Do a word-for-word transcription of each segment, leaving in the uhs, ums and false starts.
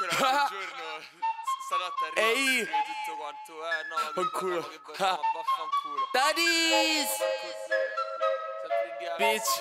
Comunque l'altro giorno stanotte arriva Ehi tutto quanto, eh no, ma fanculo. che no, vaffanculo. Daddies Sempre in diavolo, bitch.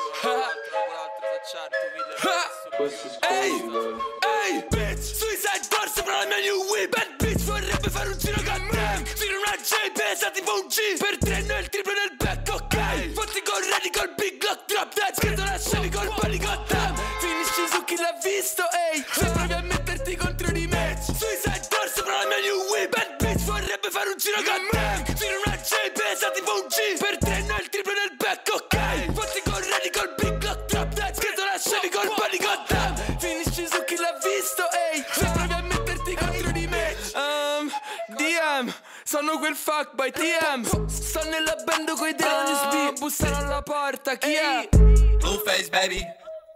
Ehi, ehi, bitch, Suicide Bar sopra la mia new whip. Bad bitch vorrebbe fare un giro con me. Tiro una J, pesa tipo un G. Per tre noi il triplo nel back, ok. Fatti con ready col big lock drop dead. Scritto la scevi col panico tam. Finisci su chi l'ha visto, ehi. Se provi a metterti contro di me. Suicide Bar sopra la mia new whip. Bad bitch vorrebbe fare un giro con me. Tiro una J, pesa tipo un G. Per tre noi il triplo nel back, ok. Fatti con ready col big lock drop dead. Scritto la scevi col panico tam. Finisci su chi l'ha visto, ehi. Se provi a metterti contro di me. Um, D M, sono quel fuckboy T M. Sto nella band coi Delius B. Bussano alla porta, chi è? Blueface, baby.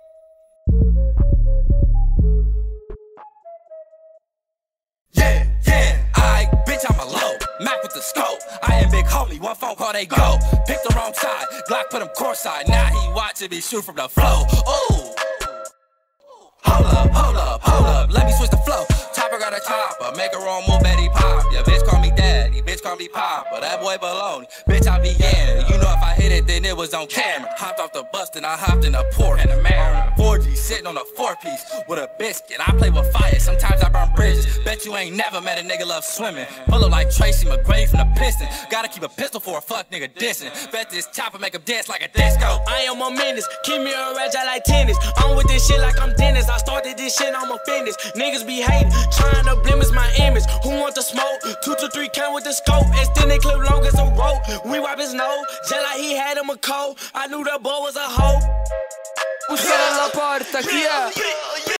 Yeah, yeah, I, bitch, I'm a low. Mac with the scope. I am big homie, one phone call, they go. Pick the wrong side, Glock put him courtside. Now he watching me shoot from the flow. Ooh. Hold up, hold up, hold up, let me switch the flow. Chopper got a chopper, make her own move, Betty Pop. Yeah, bitch call me daddy, bitch call me Papa. That boy baloney, bitch I be in it. You know if I hit it, then it was on camera. Hopped off the bus, then I hopped in a Porsche. And a man, four G sitting on a four-piece with a biscuit. I play with fire, sometimes I burn bridges. Bet you ain't never met a nigga love swimming. Pull up like Tracy McGrady from the Piston. Gotta keep a pistol for a fuck nigga dissing. Bet this chopper make him dance like a disco. I am a menace, keep me a reg, I like tennis. I'm with this shit like I'm Dennis. I started this shit, I'm a fitness. Niggas be hating, trying to blemish my image. Who want the smoke? Two to three count with the scope. Extended clip long as a rope. We wipe his nose, just like he had him a cold. I knew the boy was a hoe. Bussano alla porta, chi è?